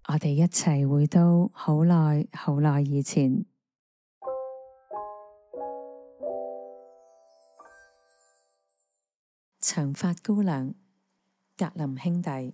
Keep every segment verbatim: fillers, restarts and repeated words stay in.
我哋一齊回到好耐好耐以前。長髮姑娘，格林兄弟。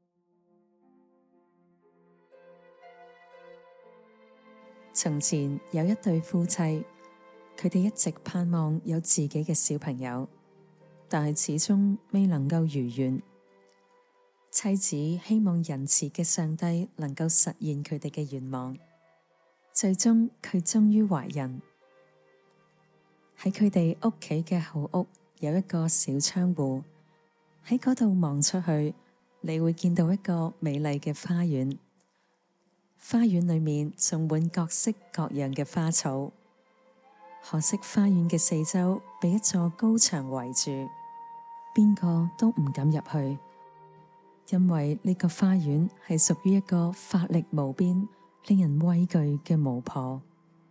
從前有一對夫妻，佢哋一直盼望有自己嘅小朋友，但係始終未能夠如願。妻子希望仁慈嘅上帝能夠實現佢哋嘅願望，最終佢終於懷孕。喺佢哋屋企嘅後屋有一個小窗戶，喺嗰度望出去，你會見到一個美麗嘅花園。花園裏面種滿各式各樣嘅花草，可惜花園嘅四周被一座高牆圍住，邊個都唔敢入去。因為呢個花園係屬於一個法力無邊、令人畏懼嘅巫婆。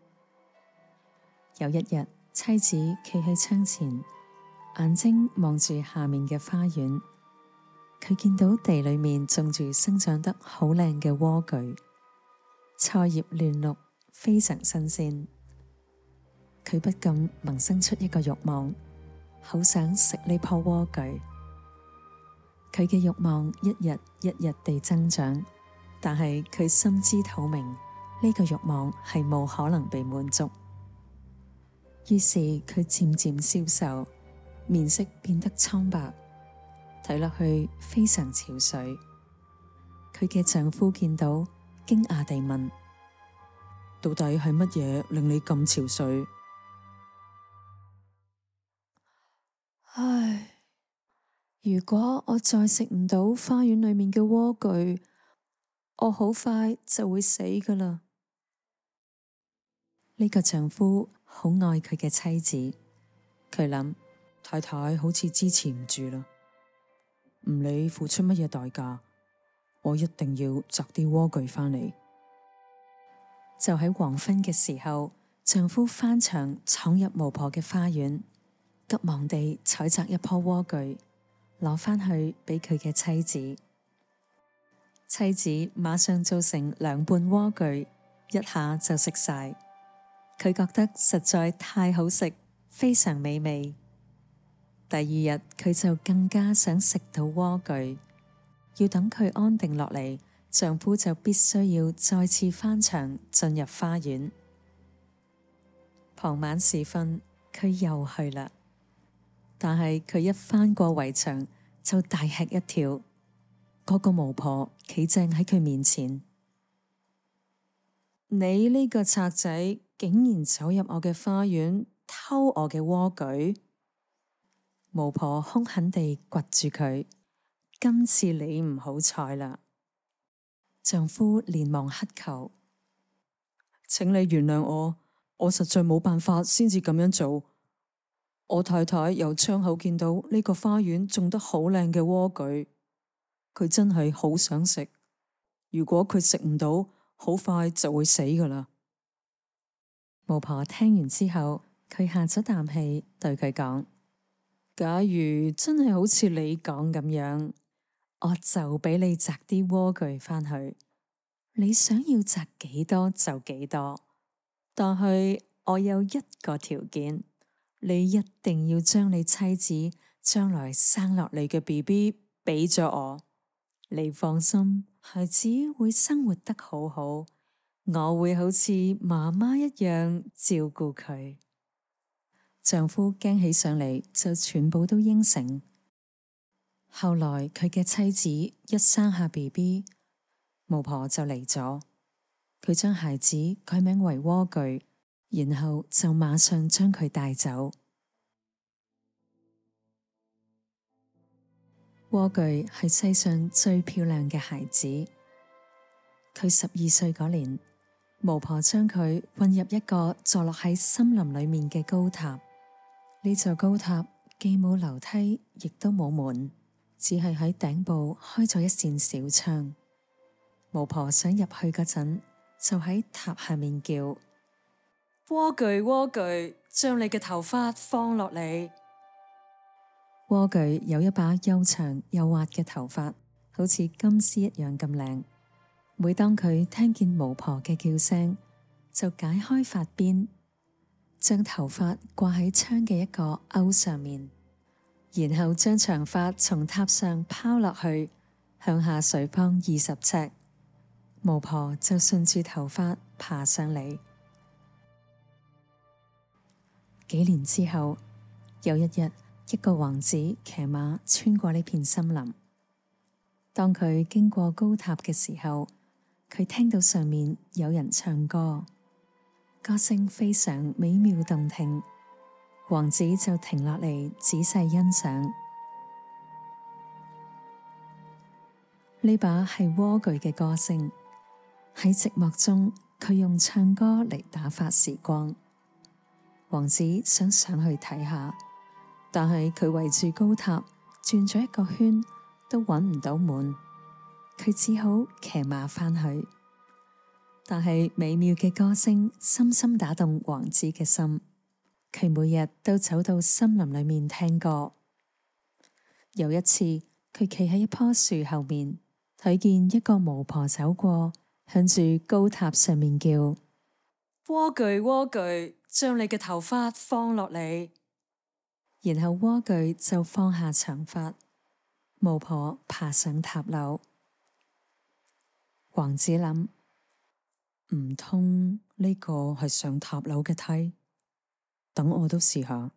有一日，妻子企喺窗前，眼睛望住下面嘅花園，佢見到地裏面種住生長得好靚嘅萵苣，菜葉嫩綠，非常新鮮。佢不禁萌生出一個慾望，好想食呢棵萵苣。佢嘅慾望一日一日地增長，但係佢心知肚明，呢個慾望係冇可能被滿足。於是佢漸漸消瘦，面色變得蒼白，睇落去非常憔悴。佢嘅丈夫見到，驚訝地問：到底係乜嘢令你咁憔悴？唉。如果我再食唔到花園裏面嘅萵苣，我好快就會死㗎喇。呢個丈夫好愛佢嘅妻子，佢諗太太好似支持唔住啦，唔理付出乜嘢代價，我一定要摘啲萵苣返嚟。就喺黃昏嘅時候，丈夫翻牆闖入巫婆嘅花園，急忙地採摘一棵萵苣，攞返去俾佢嘅妻子。妻子馬上做成兩半萵苣，一下就食晒。佢覺得實在太好食，非常美味。第二日佢就更加想食到萵苣，要等佢安定落嚟，丈夫就必須要再次翻牆進入花園。傍晚時分，佢又去啦。但係佢一翻過圍牆，就大吃一跳。嗰個巫婆企正喺佢面前，你呢個賊仔竟然走入我嘅花園偷我嘅萵苣！巫婆兇狠地掘住佢，今次你唔好彩啦！丈夫連忙乞求，請你原諒我，我實在冇辦法先至咁樣做。我太太由窗口見到呢個花園種得好靚嘅萵苣，佢真係好想食。如果佢食唔到，好快就會死㗎喇。巫婆聽完之後，佢下咗啖氣，對佢講：假如真係好似你講咁樣，我就俾你摘啲萵苣返去，你想要摘幾多就幾多，但係我有一個條件。你一定要將你妻子將來生落嚟嘅 B B 俾咗我，你放心，孩子會生活得好好，我會好似媽媽一樣照顧佢。丈夫驚起上嚟，就全部都應承。後來佢嘅妻子一生下 B B， 巫婆就嚟咗，佢將孩子改名為萵苣。然後就馬上將佢帶走。萵苣係世上最漂亮嘅孩子。佢十二歲嗰年，巫婆將佢混入一個坐落喺森林裏面嘅高塔。呢座高塔既冇樓梯，亦都冇門，只係喺頂部開咗一扇小窗。巫婆想入去嗰陣，就喺塔下面叫：萵苣，萵苣，將你嘅頭髮放落嚟。萵苣有一把又長又滑嘅頭髮，好似金絲一樣咁靚。 每當佢聽見巫婆嘅叫聲，就解開髮辮，將頭髮掛喺窗嘅一個鈎上面，然後將長髮從塔上拋落去，向下垂放二十尺，巫婆就順住頭髮爬上嚟。幾年之後，有一日，一個王子騎馬穿過呢片森林。當佢經過高塔嘅時候，佢聽到上面有人唱歌，歌聲非常美妙動聽。王子就停落嚟仔細欣賞。呢把係蝸居嘅歌聲，喺寂寞中，佢用唱歌嚟打發時光。王子想上去睇下，但係佢圍住高塔轉咗一個圈，都揾唔到門。佢只好騎馬返去，但係美妙嘅歌聲深深打動王子嘅心。佢每日都走到森林裏面聽歌。有一次，佢企喺一棵樹後面，睇見一個巫婆走過，向住高塔上面叫：蝸居，蝸居，將你嘅頭髮放落嚟。然後蝸居就放下長髮，巫婆爬上塔樓。王子諗，唔通呢個係上塔樓嘅梯？等我都試下。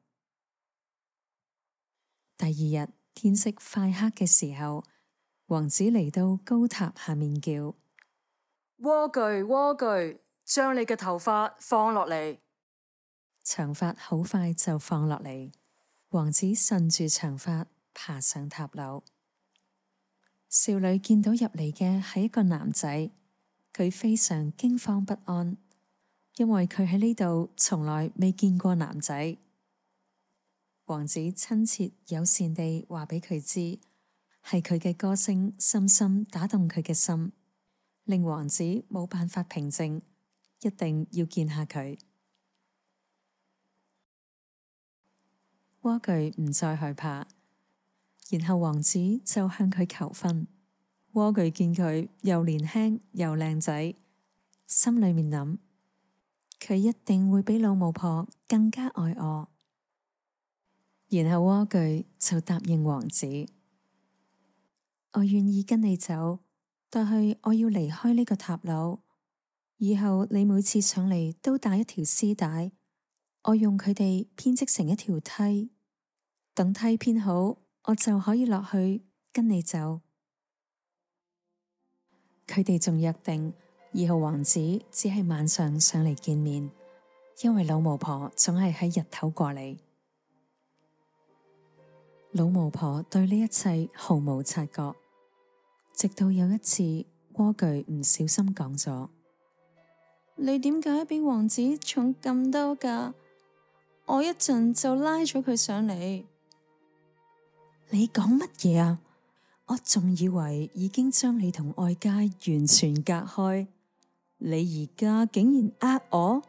第二日天色快黑嘅時候，王子嚟到高塔下面叫：蝸居，蝸居，將你嘅頭髮放落嚟。長髮好快就放落嚟。王子順住長髮爬上塔樓。少女見到入嚟嘅係一個男仔，佢非常驚慌不安，因為佢喺呢度從來未見過男仔。王子親切友善地話俾佢知，係佢嘅歌聲深深打動佢嘅心，令王子冇辦法平靜，一定要見下佢。蝸居唔再害怕。然後王子就向佢求婚。蝸居見佢又年輕又靚仔，心裏面諗，佢一定會比老巫婆更加愛我。然後蝸居就答應王子：我願意跟你走，但係我要離開呢個塔樓。以後你每次上嚟都帶一條絲帶，我用佢哋編織成一條梯，等梯編好，我就可以落去跟你走。佢哋仲約定，以後王子只係晚上上嚟見面，因為老巫婆總係喺日頭過嚟。老巫婆對呢一切毫無察覺，直到有一次，蝸居唔小心講咗：你點解比王子重咁多㗎？我一陣就拉咗佢上嚟。你講乜嘢啊？我仲以為已經將你同外界完全隔開，你而家竟然呃我？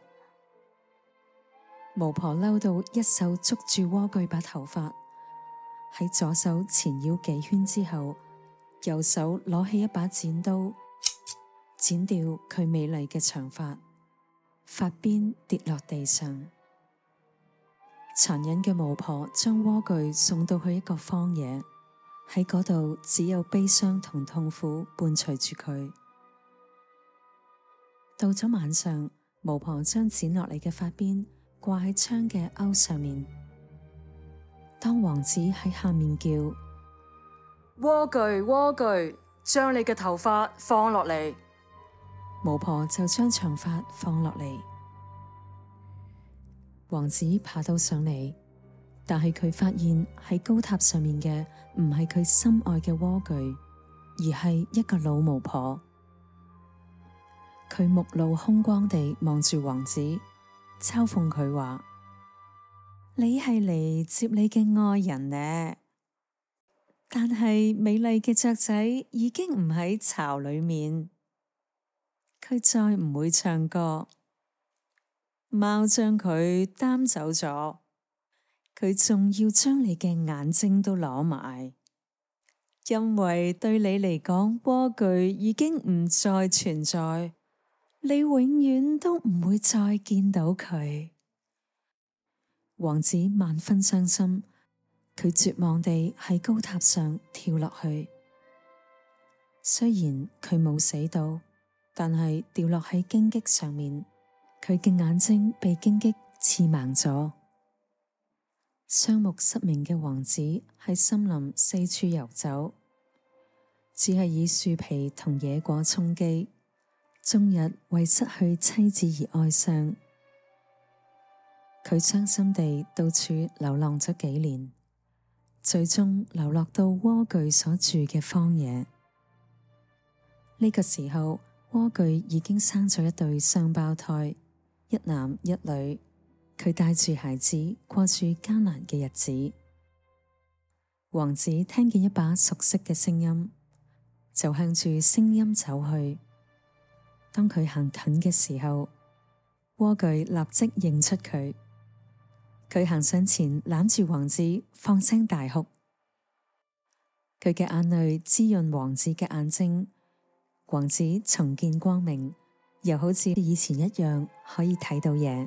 巫婆嬲到一手捉住蝸居把頭髮，喺左手纏繞幾圈之後，右手攞起一把剪刀，剪掉佢美麗嘅長髮，髮辮跌落地上。殘忍嘅巫婆將蝸居送到去一個荒野，喺嗰度只有悲傷同痛苦伴隨住佢。到咗晚上，巫婆將剪落嚟嘅髮辮掛喺窗嘅鈎上面。當王子喺下面叫：蝸居，蝸居，將你嘅頭髮放落嚟，巫婆就將長髮放落嚟。王子爬到上嚟，但係佢發現喺高塔上面嘅唔係佢心愛嘅蝸居，而係一個老巫婆。佢目露凶光地望住王子，嘲諷佢話：你係嚟接你嘅愛人呢？但係美麗嘅雀仔已經唔喺巢裏面，佢再唔會唱歌。貓將佢擔走咗，佢仲要將你嘅眼睛都攞埋， 因為對你嚟講，萵苣已經唔再存在，你永遠都唔會再見到佢。王子萬分傷心，佢絕望地喺高塔上跳落去。雖然佢冇死到，但係掉落喺荊棘上面，佢嘅眼睛被荊棘刺盲咗。雙目失明嘅王子喺森林四處遊走，只係以樹皮同野果充飢，終日為失去妻子而哀傷。佢傷心地到處流浪咗幾年，最終流落到萵苣所住嘅荒野。呢個時候，萵苣已經生咗一對雙胞胎，一男一女。佢帶住孩子過住艱難嘅日子。王子聽見一把熟悉嘅聲音，就向住聲音走去。當佢行近嘅時候，萵苣立即認出佢。佢行上前攬住王子，放聲大哭。佢嘅眼淚滋潤王子嘅眼睛，王子重見光明，又好似以前一樣可以睇到嘢。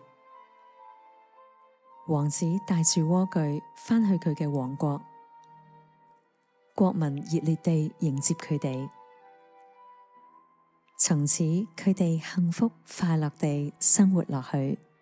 王子帶住萵苣返去佢嘅王國，國民熱烈地迎接佢哋。從此佢哋幸福快樂地生活落去。